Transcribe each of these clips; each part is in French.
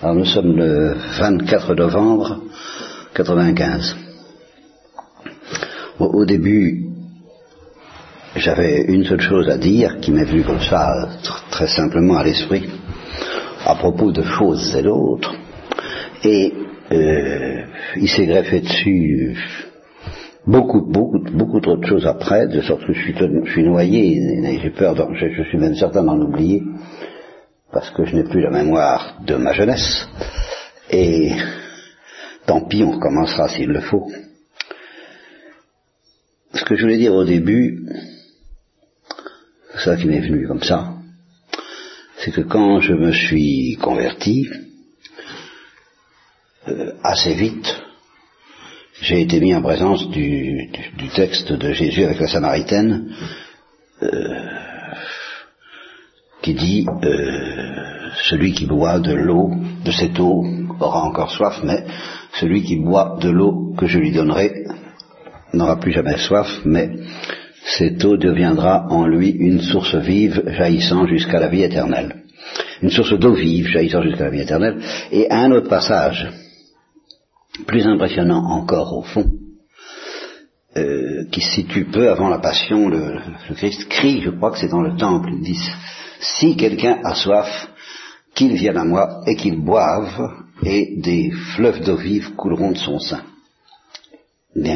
Alors nous sommes le 24 novembre 95. Au début, j'avais une seule chose à dire qui m'est venue comme ça, très simplement à l'esprit, à propos de choses et d'autres. Et il s'est greffé dessus beaucoup trop de choses après, de sorte que je suis noyé, et j'ai peur, je suis même certain d'en oublier, parce que je n'ai plus la mémoire de ma jeunesse, et tant pis, on recommencera s'il le faut. Ce que je voulais dire au début, c'est ça qui m'est venu comme ça, c'est que quand je me suis converti, assez vite, j'ai été mis en présence du texte de Jésus avec la Samaritaine, qui dit celui qui boit de l'eau, de cette eau, aura encore soif, mais celui qui boit de l'eau que je lui donnerai n'aura plus jamais soif, mais cette eau deviendra en lui une source vive jaillissant jusqu'à la vie éternelle. Une source d'eau vive jaillissant jusqu'à la vie éternelle. Et un autre passage, plus impressionnant encore au fond, qui se situe peu avant la passion, le Christ crie, je crois que c'est dans le temple, il dit, si quelqu'un a soif, qu'il vienne à moi et qu'il boive, et des fleuves d'eau vive couleront de son sein. Bien.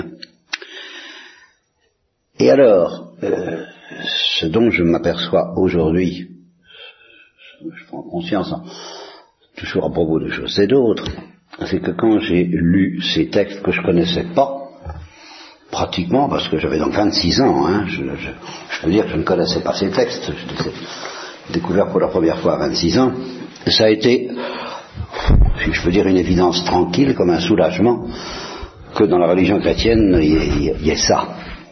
Et alors, ce dont je m'aperçois aujourd'hui, je prends conscience, toujours à propos de choses et d'autres, c'est que quand j'ai lu ces textes que je connaissais pas, pratiquement, parce que j'avais donc 26 ans, je peux dire que je ne connaissais pas ces textes, je les ai découverts pour la première fois à 26 ans, ça a été, si je peux dire, une évidence tranquille, comme un soulagement, que dans la religion chrétienne, il y ait ça.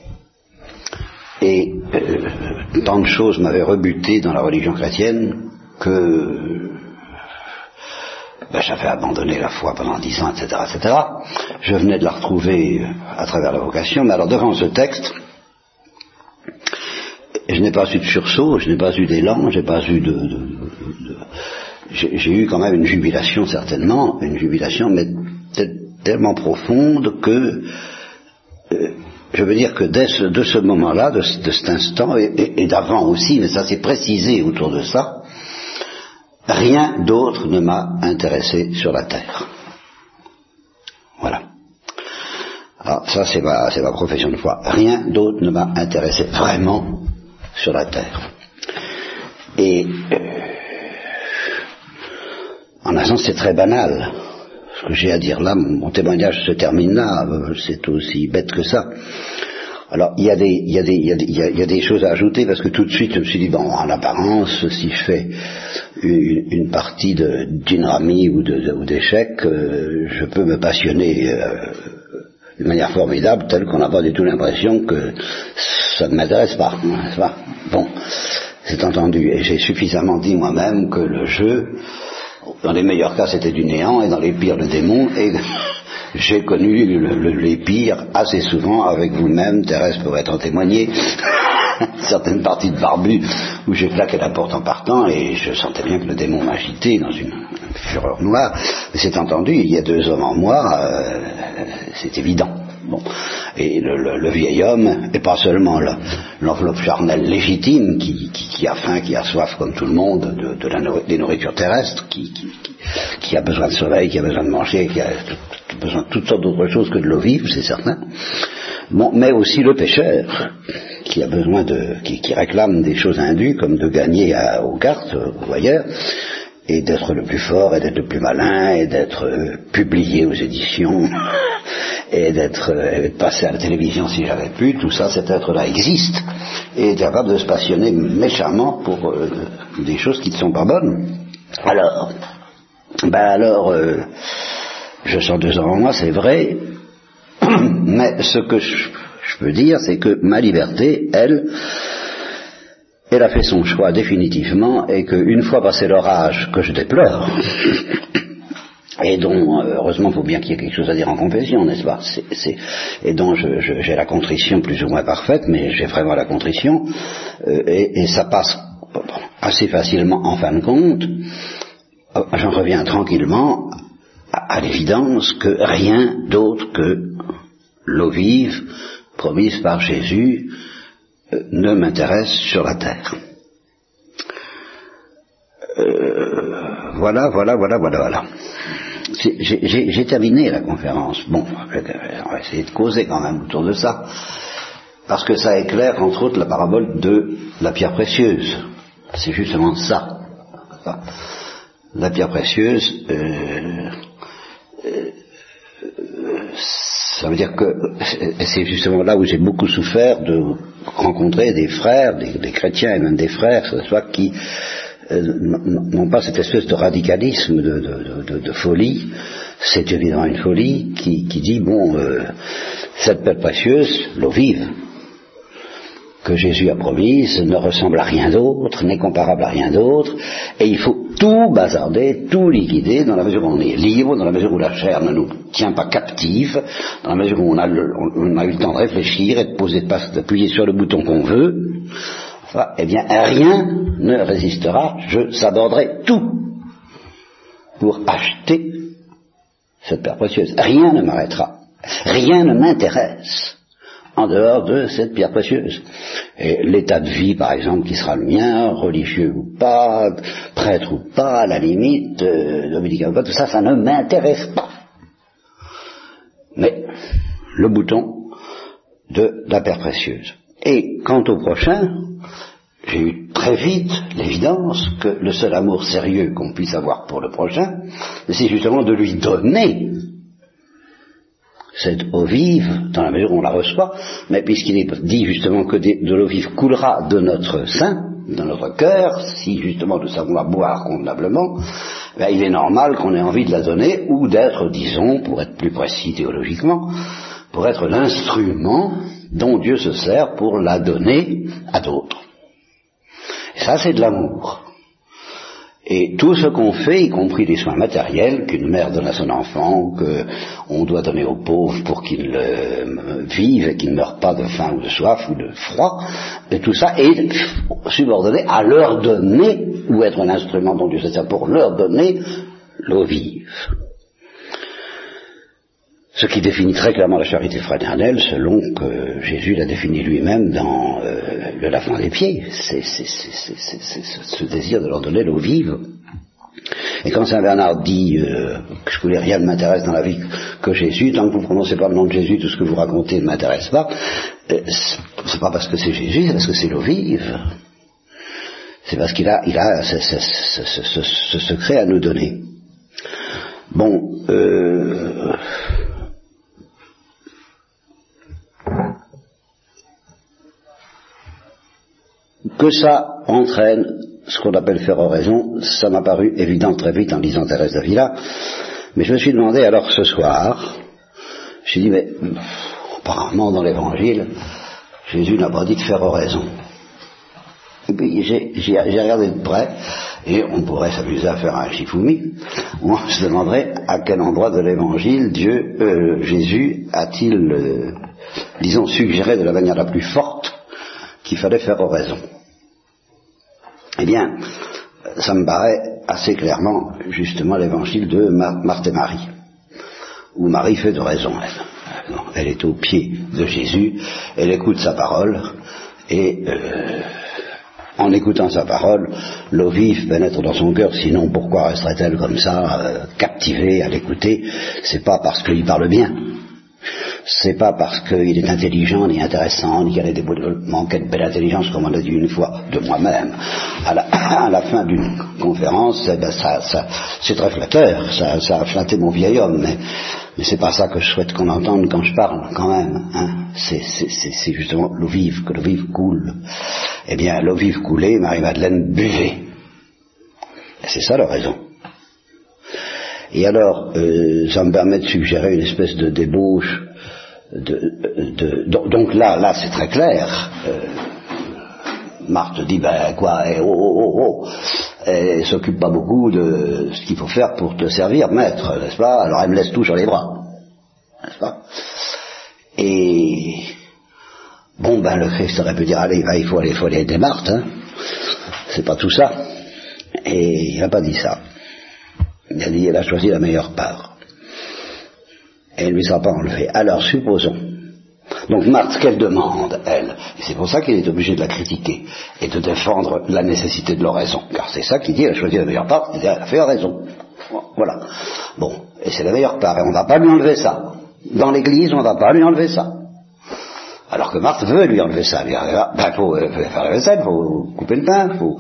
Et tant de choses m'avaient rebuté dans la religion chrétienne que j'avais abandonné la foi pendant 10 ans, etc., etc. Je venais de la retrouver à travers la vocation, mais alors devant ce texte, je n'ai pas eu de sursaut, je n'ai pas eu d'élan, j'ai pas eu j'ai eu quand même une jubilation certainement, une jubilation mais tellement profonde que je veux dire que de ce moment-là, de cet instant, et d'avant aussi, mais ça s'est précisé autour de ça, rien d'autre ne m'a intéressé sur la terre. Voilà. Alors ça c'est ma profession de foi. Rien d'autre ne m'a intéressé vraiment sur la terre. Et en un sens c'est très banal. Ce que j'ai à dire là, mon témoignage se termine là, c'est aussi bête que ça. Alors, il y a des choses à ajouter, parce que tout de suite, je me suis dit, bon, en apparence, si je fais une partie d'Inrami ou d'échecs, je peux me passionner d'une manière formidable, telle qu'on n'a pas du tout l'impression que ça ne m'intéresse pas. Bon, c'est entendu, et j'ai suffisamment dit moi-même que le jeu, dans les meilleurs cas, c'était du néant, et dans les pires, le démon, et j'ai connu les pires assez souvent avec vous-même, Thérèse pourrait en témoigner, certaines parties de barbu où j'ai claqué la porte en partant, et je sentais bien que le démon m'agitait dans une fureur noire, mais c'est entendu, il y a 2 hommes en moi, c'est évident. Bon. Et le vieil homme, et pas seulement l'enveloppe charnelle légitime qui a faim, qui a soif comme tout le monde des nourritures terrestres, qui a besoin de soleil, qui a besoin de manger, qui a besoin de toutes sortes d'autres choses que de l'eau vive, c'est certain. Bon, mais aussi le pécheur, qui a besoin qui réclame des choses indues, comme de gagner aux cartes ou ailleurs, et d'être le plus fort, et d'être le plus malin, et d'être publié aux éditions, et de passer à la télévision si j'avais pu. Tout ça, cet être-là existe, et est capable de se passionner méchamment pour des choses qui ne sont pas bonnes. Alors, je sens 2 ans en moi, c'est vrai, mais ce que je peux dire, c'est que ma liberté, elle a fait son choix définitivement, et qu'une fois passé l'orage que je déplore, et dont, heureusement, il faut bien qu'il y ait quelque chose à dire en confession, n'est-ce pas, et dont j'ai la contrition plus ou moins parfaite, mais j'ai vraiment la contrition, et ça passe assez facilement en fin de compte, j'en reviens tranquillement à l'évidence que rien d'autre que l'eau vive promise par Jésus ne m'intéresse sur la terre. Voilà. J'ai terminé la conférence. Bon, on va essayer de causer quand même autour de ça, parce que ça éclaire entre autres la parabole de la pierre précieuse. C'est justement ça. La pierre précieuse, ça veut dire que c'est justement là où j'ai beaucoup souffert de rencontrer des frères, des chrétiens et même des frères, qui n'ont pas cette espèce de radicalisme, de folie. C'est évidemment une folie qui dit, cette pierre précieuse, l'eau vive, que Jésus a promise, ne ressemble à rien d'autre, n'est comparable à rien d'autre, et il faut tout bazarder, tout liquider, dans la mesure où on est libre, dans la mesure où la chair ne nous tient pas captive, dans la mesure où on a eu le temps de réfléchir et d'appuyer sur le bouton qu'on veut. Eh bien, rien ne résistera, je s'aborderai tout pour acheter cette pierre précieuse. Rien ne m'arrêtera, rien ne m'intéresse en dehors de cette pierre précieuse. Et l'état de vie, par exemple, qui sera le mien, religieux ou pas, prêtre ou pas, à la limite, dominicain ou pas, tout ça, ça ne m'intéresse pas. Mais le bouton de la pierre précieuse. Et quant au prochain, j'ai eu très vite l'évidence que le seul amour sérieux qu'on puisse avoir pour le prochain, c'est justement de lui donner cette eau vive, dans la mesure où on la reçoit, mais puisqu'il est dit justement que de l'eau vive coulera de notre sein, de notre cœur, si justement nous savons la boire convenablement, il est normal qu'on ait envie de la donner, ou d'être, disons, pour être plus précis théologiquement, pour être l'instrument dont Dieu se sert pour la donner à d'autres. Et ça, c'est de l'amour. Et tout ce qu'on fait, y compris les soins matériels, qu'une mère donne à son enfant, qu'on doit donner aux pauvres pour qu'ils vivent et qu'ils ne meurent pas de faim ou de soif ou de froid, et tout ça est subordonné à leur donner, ou être un instrument dont Dieu se sert pour leur donner, l'eau vive. Ce qui définit très clairement la charité fraternelle, selon que Jésus l'a défini lui-même dans le lavement des pieds. C'est ce désir de leur donner l'eau vive. Et quand Saint Bernard dit que je voulais rien ne m'intéresse dans la vie que Jésus, tant que vous ne prononcez pas le nom de Jésus, tout ce que vous racontez ne m'intéresse pas, c'est pas parce que c'est Jésus, c'est parce que c'est l'eau vive. C'est parce qu'il a ce secret à nous donner. Bon, que ça entraîne ce qu'on appelle faire oraison, ça m'a paru évident très vite en lisant Thérèse d'Avila, mais je me suis demandé alors ce soir, je me suis dit, mais apparemment dans l'Évangile, Jésus n'a pas dit de faire oraison. Et puis j'ai regardé de près, et on pourrait s'amuser à faire un Shifumi, où on se demanderait à quel endroit de l'Évangile Jésus a-t-il, disons, suggéré de la manière la plus forte qu'il fallait faire oraison. Eh bien, ça me paraît assez clairement, justement, l'évangile de Marthe et Marie, où Marie fait d'oraison, elle. Elle est au pied de Jésus, elle écoute sa parole, et en écoutant sa parole, l'eau vive pénètre dans son cœur, sinon pourquoi resterait-elle comme ça, captivée à l'écouter? C'est pas parce qu'il parle bien. C'est pas parce qu'il est intelligent, ni intéressant, ni qu'il a des développements, quelle belle intelligence, comme on a dit une fois, de moi-même. À la fin d'une conférence, c'est très flatteur, ça a flatté mon vieil homme, mais c'est pas ça que je souhaite qu'on entende quand je parle, quand même. Hein. C'est justement l'eau vive, que l'eau vive coule. Eh bien, l'eau vive coulée, Marie-Madeleine buvait. Et c'est ça l'oraison. Et alors, ça me permet de suggérer une espèce de débauche. Donc là, c'est très clair. Marthe dit, elle s'occupe pas beaucoup de ce qu'il faut faire pour te servir, maître, n'est-ce pas? Alors elle me laisse tout sur les bras, n'est-ce pas? Et le Christ aurait pu dire, allez, il faut aller aider Marthe, hein. C'est pas tout ça. Et il n'a pas dit ça. Il a dit, elle a choisi la meilleure part. Et elle ne lui sera pas enlevée. Alors, supposons. Donc Marthe, ce qu'elle demande, elle, et c'est pour ça qu'il est obligé de la critiquer, et de défendre la nécessité de l'oraison. Car c'est ça qu'il dit, elle a choisi la meilleure part, elle a fait oraison. Voilà. Bon, et c'est la meilleure part, et on ne va pas lui enlever ça. Dans l'église, on ne va pas lui enlever ça. Alors que Marthe veut lui enlever ça. Il faut faire la vaisselle, il faut couper le pain, il faut...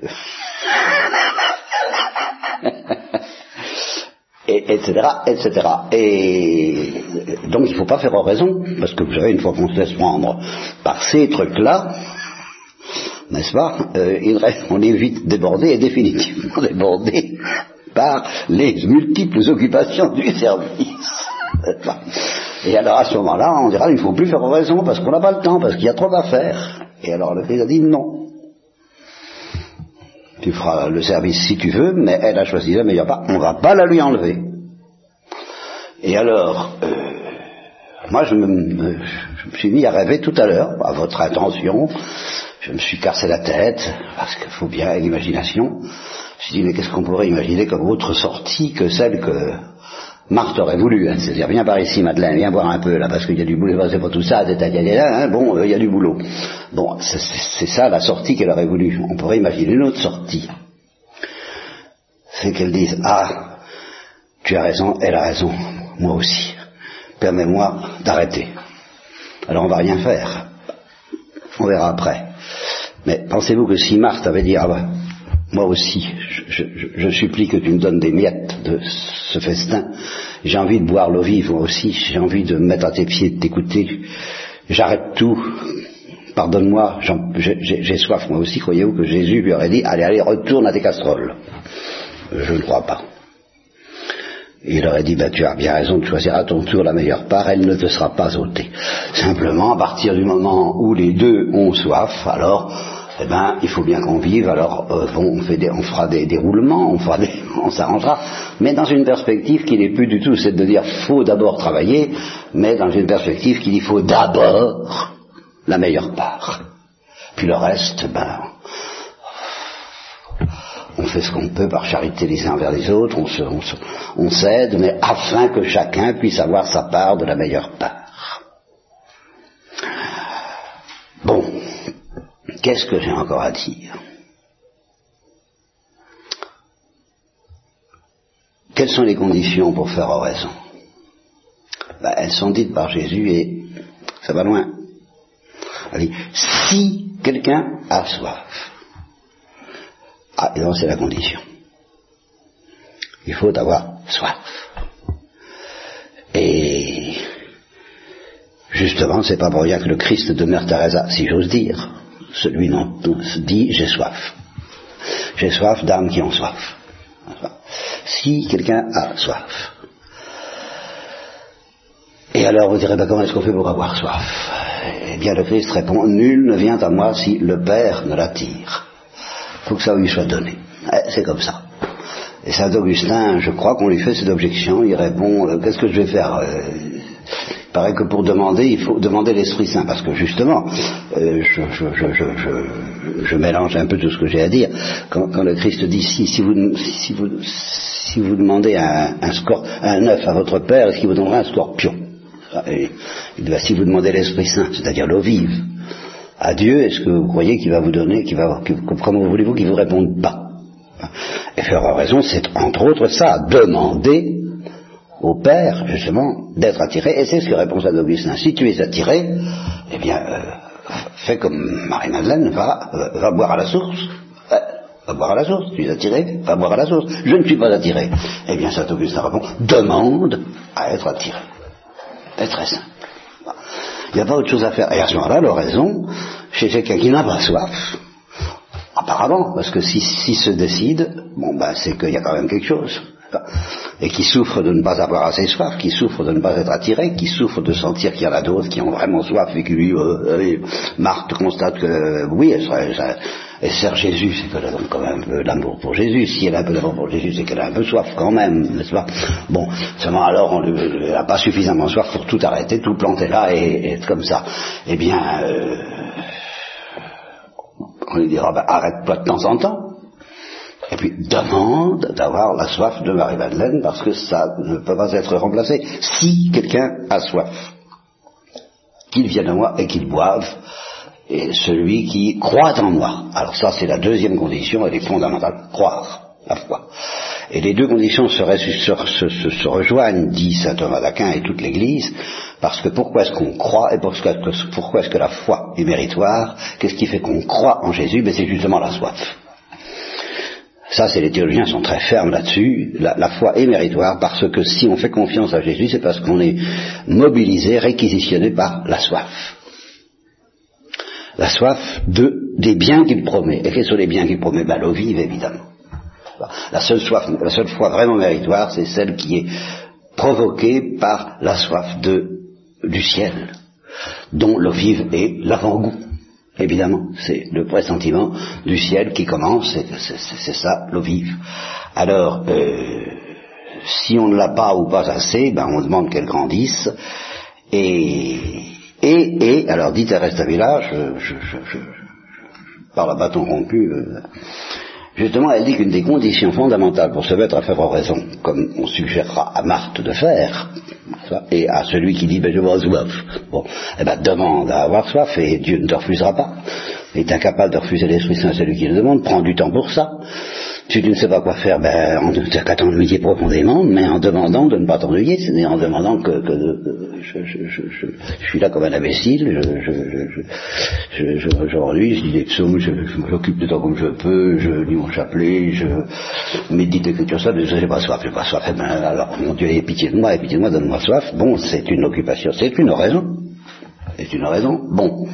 etc., etc. Et donc il ne faut pas faire oraison, parce que vous savez, une fois qu'on se laisse prendre par ces trucs-là, n'est-ce pas, on est vite débordé et définitivement débordé par les multiples occupations du service. Et alors à ce moment-là, on dira, il ne faut plus faire oraison parce qu'on n'a pas le temps, parce qu'il y a trop à faire. Et alors le Christ a dit non. Tu feras le service si tu veux, mais elle a choisi la meilleure part, on ne va pas la lui enlever. Et alors, moi je me suis mis à rêver tout à l'heure, à votre attention, je me suis cassé la tête, parce qu'il faut bien l'imagination. Je me suis dit, mais qu'est-ce qu'on pourrait imaginer comme autre sortie que celle que Marthe aurait voulu, hein, c'est-à-dire viens par ici Madeleine, viens voir un peu là, parce qu'il y a du boulot, c'est pas tout ça, hein, bon, il y a du boulot. Bon, c'est ça la sortie qu'elle aurait voulu. On pourrait imaginer une autre sortie. C'est qu'elle dise, ah, tu as raison, elle a raison, moi aussi. Permets-moi d'arrêter. Alors on va rien faire. On verra après. Mais pensez-vous que si Marthe avait dit, ah ben, moi aussi, je supplie que tu me donnes des miettes de ce festin, j'ai envie de boire l'eau vive, moi aussi, j'ai envie de me mettre à tes pieds, de t'écouter, j'arrête tout, pardonne-moi, j'ai soif, moi aussi, croyez-vous que Jésus lui aurait dit, allez, retourne à tes casseroles? Je ne crois pas. Il aurait dit, tu as bien raison de choisir à ton tour la meilleure part, elle ne te sera pas ôtée. Simplement, à partir du moment où les deux ont soif, alors... eh ben, il faut bien qu'on vive, alors on fera des roulements, on s'arrangera, mais dans une perspective qui n'est plus du tout, c'est de dire faut d'abord travailler, mais dans une perspective qui dit faut d'abord la meilleure part. Puis le reste, on fait ce qu'on peut par charité les uns vers les autres, on s'aide, mais afin que chacun puisse avoir sa part de la meilleure part. Bon. Qu'est-ce que j'ai encore à dire? Quelles sont les conditions pour faire oraison? Elles sont dites par Jésus et ça va loin. Elle dit, si quelqu'un a soif. Ah, et donc c'est la condition. Il faut avoir soif. Et justement, c'est pas pour rien que le Christ de Mère Teresa, si j'ose dire, celui dont on se dit j'ai soif. J'ai soif d'âmes qui ont soif. Si quelqu'un a soif. Et alors vous direz, comment est-ce qu'on fait pour avoir soif? Eh bien le Christ répond, nul ne vient à moi si le Père ne l'attire. Il faut que ça lui soit donné. C'est comme ça. Et Saint Augustin, je crois qu'on lui fait cette objection, il répond, qu'est-ce que je vais faire? Il paraît que pour demander, il faut demander l'Esprit Saint, parce que justement, je mélange un peu tout ce que j'ai à dire. Quand le Christ dit si vous demandez un œuf à votre Père, est-ce qu'il vous donnera un scorpion? Et si vous demandez l'Esprit Saint, c'est-à-dire l'eau vive, à Dieu, est-ce que vous croyez qu'il va vous donner, comment voulez-vous qu'il vous réponde pas? Et faire oraison, c'est entre autres ça, demander au Père, justement, d'être attiré, et c'est ce que répond Saint Augustin. Si tu es attiré, eh bien, fais comme Marie-Madeleine, va boire à la source. Va boire à la source. Tu es attiré, va boire à la source. Je ne suis pas attiré. Eh bien, Saint Augustin répond, demande à être attiré. C'est très simple. Il n'y a pas autre chose à faire. Et à ce moment-là, l'oraison, chez quelqu'un qui n'a pas soif, apparemment, parce que s'il se décide, c'est qu'il y a quand même quelque chose. Et qui souffre de ne pas avoir assez soif, qui souffre de ne pas être attiré, qui souffre de sentir qu'il y en a d'autres qui ont vraiment soif et qui lui, Marthe constate que oui, elle sert Jésus, c'est qu'elle a donc quand même un peu d'amour pour Jésus. Si elle a un peu d'amour pour Jésus, c'est qu'elle a un peu soif quand même, n'est-ce pas? Bon, seulement alors elle n'a pas suffisamment soif pour tout arrêter, tout planter là et être comme ça. Eh bien, on lui dira, arrête-toi de temps en temps. Et puis demande d'avoir la soif de Marie-Madeleine, parce que ça ne peut pas être remplacé. Si quelqu'un a soif, qu'il vienne à moi et qu'il boive, et celui qui croit en moi. Alors ça, c'est la deuxième condition, elle est fondamentale, croire, la foi. Et les deux conditions se rejoignent, dit saint Thomas d'Aquin et toute l'Église, parce que pourquoi est-ce qu'on croit et pourquoi est-ce que la foi est méritoire? Qu'est-ce qui fait qu'on croit en Jésus? Ben c'est justement la soif. Ça, les théologiens sont très fermes là-dessus. La foi est méritoire parce que si on fait confiance à Jésus, c'est parce qu'on est mobilisé, réquisitionné par la soif. La soif des biens qu'il promet. Et quels sont les biens qu'il promet? Ben, l'eau vive, évidemment. La seule foi vraiment méritoire, c'est celle qui est provoquée par la soif du ciel, dont l'eau vive est l'avant-goût. Évidemment, c'est le pressentiment du ciel qui commence, c'est ça, l'eau vive. Alors, si on ne l'a pas ou pas assez, ben on demande qu'elle grandisse, et alors dit Thérèse d'Avila, je parle à bâton rompu, justement, elle dit qu'une des conditions fondamentales pour se mettre à faire oraison, comme on suggérera à Marthe de faire, et à celui qui dit, ben je vois soif, bon, eh ben demande à avoir soif, et Dieu ne te refusera pas, est incapable de refuser l'Esprit Saint à celui qui le demande, prends du temps pour ça. Si tu ne sais pas quoi faire, ben, on ne t'a qu'à t'ennuyer profondément, mais en demandant de ne pas t'ennuyer, c'est-à-dire en demandant que je suis là comme un imbécile, j'ennuie, je dis des psaumes, je m'occupe de temps comme je peux, je lis mon chapelet, je médite l'écriture ça, mais j'ai pas soif, eh ben, alors, mon Dieu, aie pitié de moi, donne-moi soif. Bon, c'est une occupation, c'est une raison, bon.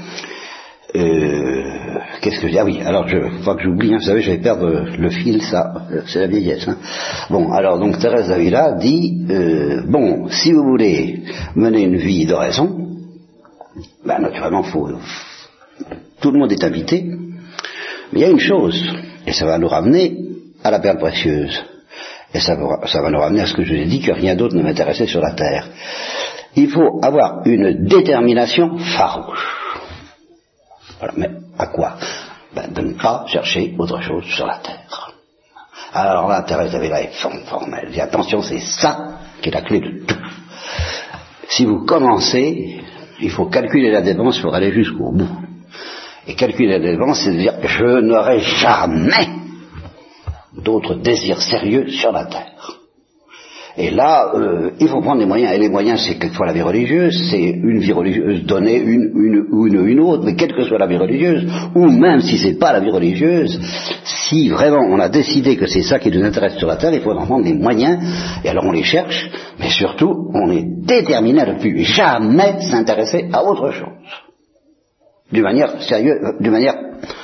Qu'est-ce que je dis? Ah oui, alors faut pas que j'oublie, vous savez, je vais perdre le fil, ça, c'est la vieillesse. Bon, alors donc Thérèse d'Avila dit, bon, si vous voulez mener une vie d'oraison, ben naturellement, tout le monde est invité, mais il y a une chose, et ça va nous ramener à la perle précieuse, et ça va nous ramener à ce que je vous ai dit, que rien d'autre ne m'intéressait sur la terre. Il faut avoir une détermination farouche. Voilà, mais à quoi? Ben, de ne pas chercher autre chose sur la terre. Alors là, Thérèse d'Avila est formelle. Elle dit attention, c'est ça qui est la clé de tout. Si vous commencez, il faut calculer la dépense pour aller jusqu'au bout. Et calculer la dépense, c'est de dire je n'aurai jamais d'autres désirs sérieux sur la terre. Et là, il faut prendre des moyens, et les moyens, c'est quelquefois la vie religieuse, c'est une vie religieuse donnée une autre, mais quelle que soit la vie religieuse, ou même si c'est pas la vie religieuse, si vraiment on a décidé que c'est ça qui nous intéresse sur la terre, il faut en prendre des moyens, et alors on les cherche, mais surtout, on est déterminé à ne plus jamais s'intéresser à autre chose. D'une manière sérieuse, d'une manière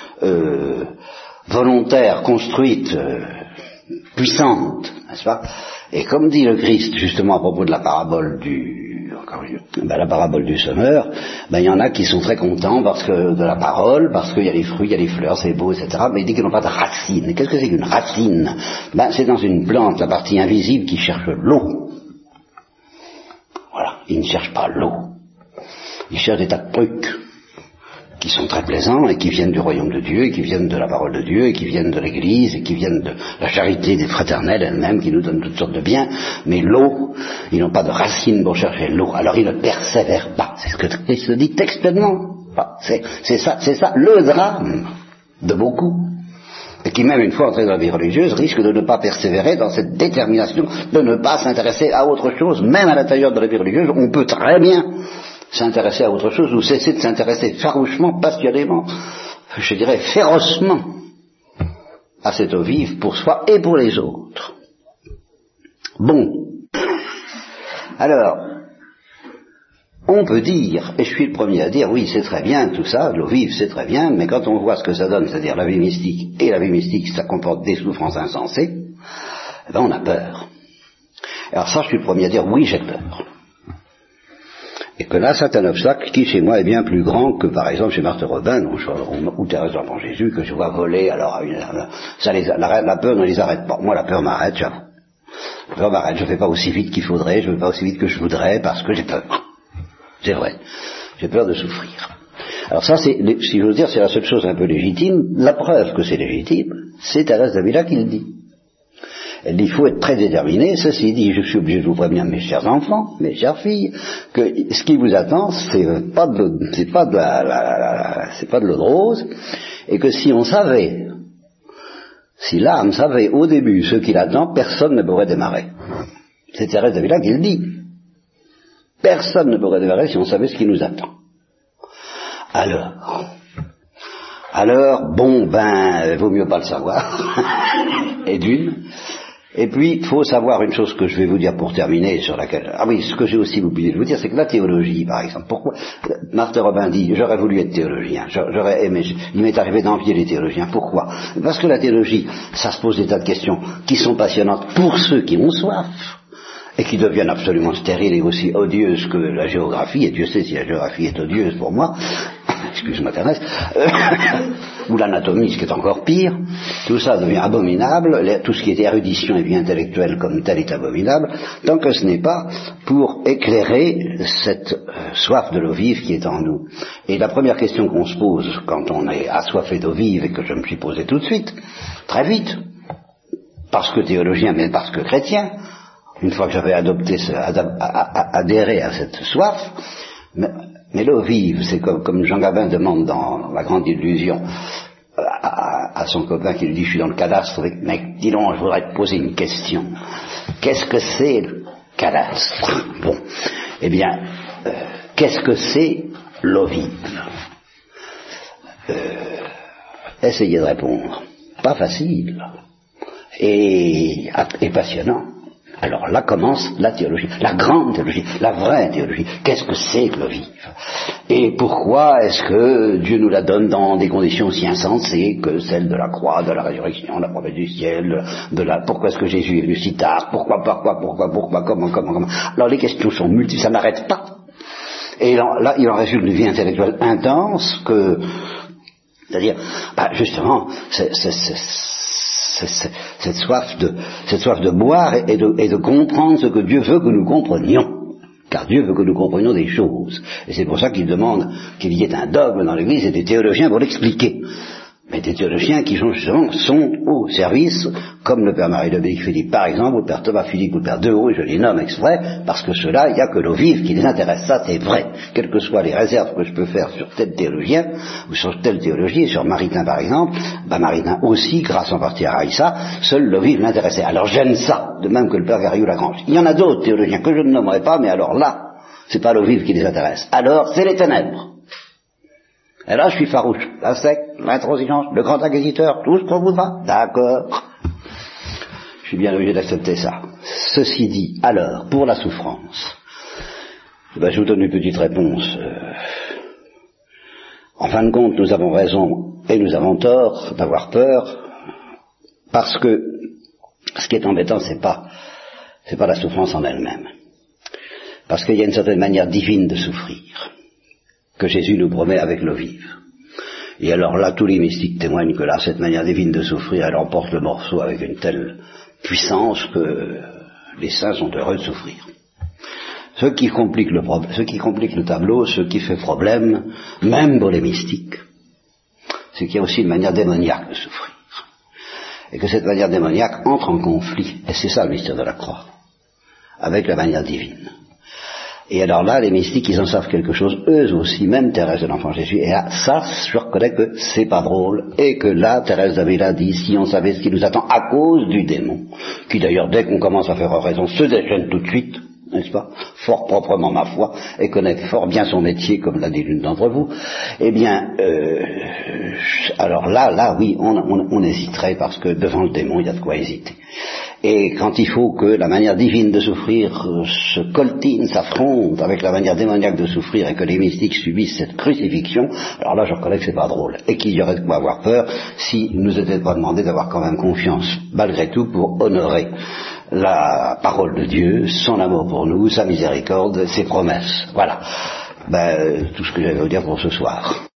volontaire, construite, puissante, n'est-ce pas? Et comme dit le Christ, justement, à propos de la parabole du semeur, il y en a qui sont très contents de la parole, parce qu'il y a les fruits, il y a les fleurs, c'est beau, etc. Mais il dit qu'ils n'ont pas de racine. Qu'est-ce que c'est qu'une racine? C'est dans une plante, la partie invisible, qui cherche l'eau. Voilà. Ils ne cherchent pas l'eau. Ils cherchent des tas de trucs qui sont très plaisants et qui viennent du royaume de Dieu, et qui viennent de la parole de Dieu, et qui viennent de l'Église, et qui viennent de la charité des fraternelles elle-même, qui nous donne toutes sortes de biens, mais l'eau, ils n'ont pas de racine pour chercher l'eau, alors ils ne persévèrent pas. C'est ce que Christ dit textuellement. C'est ça le drame de beaucoup, et qui même une fois entrés dans la vie religieuse risque de ne pas persévérer dans cette détermination de ne pas s'intéresser à autre chose. Même à l'intérieur de la vie religieuse, on peut très bien s'intéresser à autre chose ou cesser de s'intéresser farouchement, passionnément, je dirais férocement à cette eau vive pour soi et pour les autres. Bon. Alors, on peut dire, et je suis le premier à dire, oui, c'est très bien tout ça, l'eau vive c'est très bien, mais quand on voit ce que ça donne, c'est-à-dire la vie mystique, et la vie mystique ça comporte des souffrances insensées, on a peur. Alors ça, je suis le premier à dire, oui, j'ai peur. Et que là, c'est un obstacle qui, chez moi, est bien plus grand que, par exemple, chez Marthe Robin, ou Thérèse d'Enfant Jésus, que je vois voler, alors, la peur ne les arrête pas. Moi, la peur m'arrête, j'avoue. La peur m'arrête, je ne fais pas aussi vite qu'il faudrait, je ne fais pas aussi vite que je voudrais, parce que j'ai peur. C'est vrai. J'ai peur de souffrir. Alors ça, si j'ose dire, c'est la seule chose un peu légitime. La preuve que c'est légitime, c'est Thérèse d'Avila qui le dit. Elle dit, il faut être très déterminé. Ceci dit, je suis obligé de vous prévenir, mes chers enfants, mes chères filles, que ce qui vous attend, c'est pas de l'eau de rose, et que si on savait, si l'âme savait au début ce qui l'attend, personne ne pourrait démarrer. C'est Thérèse d'Avila qui le dit. Personne ne pourrait démarrer si on savait ce qui nous attend. Alors, bon, vaut mieux pas le savoir. Et d'une. Et puis, il faut savoir une chose que je vais vous dire pour terminer, sur laquelle... Ah oui, ce que j'ai aussi oublié de vous dire, c'est que la théologie, par exemple, pourquoi... Marthe Robin dit, j'aurais voulu être théologien, j'aurais aimé, il m'est arrivé d'envier les théologiens. Pourquoi? Parce que la théologie, ça se pose des tas de questions qui sont passionnantes pour ceux qui ont soif, et qui deviennent absolument stériles et aussi odieuses que la géographie, et Dieu sait si la géographie est odieuse pour moi, excuse-moi Thérèse, ou l'anatomie, ce qui est encore pire, tout ça devient abominable, tout ce qui est érudition et vie intellectuelle comme tel est abominable, tant que ce n'est pas pour éclairer cette soif de l'eau vive qui est en nous. Et la première question qu'on se pose quand on est assoiffé d'eau vive, et que je me suis posé tout de suite, très vite, parce que théologien, mais parce que chrétien, une fois que j'avais adhéré à cette soif, mais l'eau vive, c'est comme Jean Gabin demande dans La Grande Illusion à son copain qui lui dit, je suis dans le cadastre, mec, dis donc, je voudrais te poser une question. Qu'est-ce que c'est le cadastre? Bon, eh bien, qu'est-ce que c'est l'eau vive? Essayez de répondre. Pas facile. Et passionnant. Alors là commence la théologie, la grande théologie, la vraie théologie. Qu'est-ce que c'est que l'eau vive? Et pourquoi est-ce que Dieu nous la donne dans des conditions aussi insensées que celles de la croix, de la résurrection, de la promesse du ciel, pourquoi est-ce que Jésus est venu si tard? Pourquoi, comment? Alors les questions sont multiples, ça n'arrête pas. Et là, il en résulte une vie intellectuelle intense c'est-à-dire, justement, cette soif de boire et de comprendre ce que Dieu veut que nous comprenions. Car Dieu veut que nous comprenions des choses. Et c'est pour ça qu'il demande qu'il y ait un dogme dans l'Église et des théologiens pour l'expliquer. Mais des théologiens qui sont au service, comme le Père Marie-Dominique Philippe par exemple, ou le Père Thomas Philippe, ou le Père Dehaut, et je les nomme exprès, parce que ceux-là, il n'y a que l'eau vive qui les intéresse. Ça, c'est vrai. Quelles que soient les réserves que je peux faire sur tel théologien, ou sur telle théologie, sur Maritain par exemple, Maritain aussi, grâce en partie à Raïssa, seule l'eau vive l'intéressait. Alors j'aime ça, de même que le Père Garrigou-Lagrange. Il y en a d'autres théologiens que je ne nommerai pas, mais alors là, c'est pas l'eau vive qui les intéresse. Alors, c'est les ténèbres. Et là, je suis farouche. La secte, l'intransigeance, le grand inquisiteur, tout ce qu'on voudra. D'accord. Je suis bien obligé d'accepter ça. Ceci dit, alors, pour la souffrance, je vous donne une petite réponse. En fin de compte, nous avons raison et nous avons tort d'avoir peur, parce que ce qui est embêtant, c'est pas la souffrance en elle-même. Parce qu'il y a une certaine manière divine de souffrir que Jésus nous promet avec l'eau vive. Et alors là, tous les mystiques témoignent que là, cette manière divine de souffrir, elle emporte le morceau avec une telle puissance que les saints sont heureux de souffrir. Ce qui complique le tableau, ce qui fait problème, même pour les mystiques, c'est qu'il y a aussi une manière démoniaque de souffrir. Et que cette manière démoniaque entre en conflit, et c'est ça le mystère de la croix, avec la manière divine. Et alors là, les mystiques, ils en savent quelque chose, eux aussi, même Thérèse de l'Enfant Jésus. Et là, ça, je reconnais que c'est pas drôle. Et que là, Thérèse d'Avila dit, si on savait ce qui nous attend à cause du démon, qui d'ailleurs, dès qu'on commence à faire raison, se déchaîne tout de suite, n'est-ce pas, fort proprement ma foi, et connaît fort bien son métier, comme l'a dit l'une d'entre vous, eh bien, alors là, oui, on hésiterait, parce que devant le démon, il y a de quoi hésiter. Et quand il faut que la manière divine de souffrir se coltine, s'affronte avec la manière démoniaque de souffrir, et que les mystiques subissent cette crucifixion, alors là je reconnais que c'est pas drôle, et qu'il y aurait de quoi avoir peur si nous était pas demandé d'avoir quand même confiance, malgré tout, pour honorer la parole de Dieu, son amour pour nous, sa miséricorde, ses promesses. Voilà. Tout ce que j'avais à vous dire pour ce soir.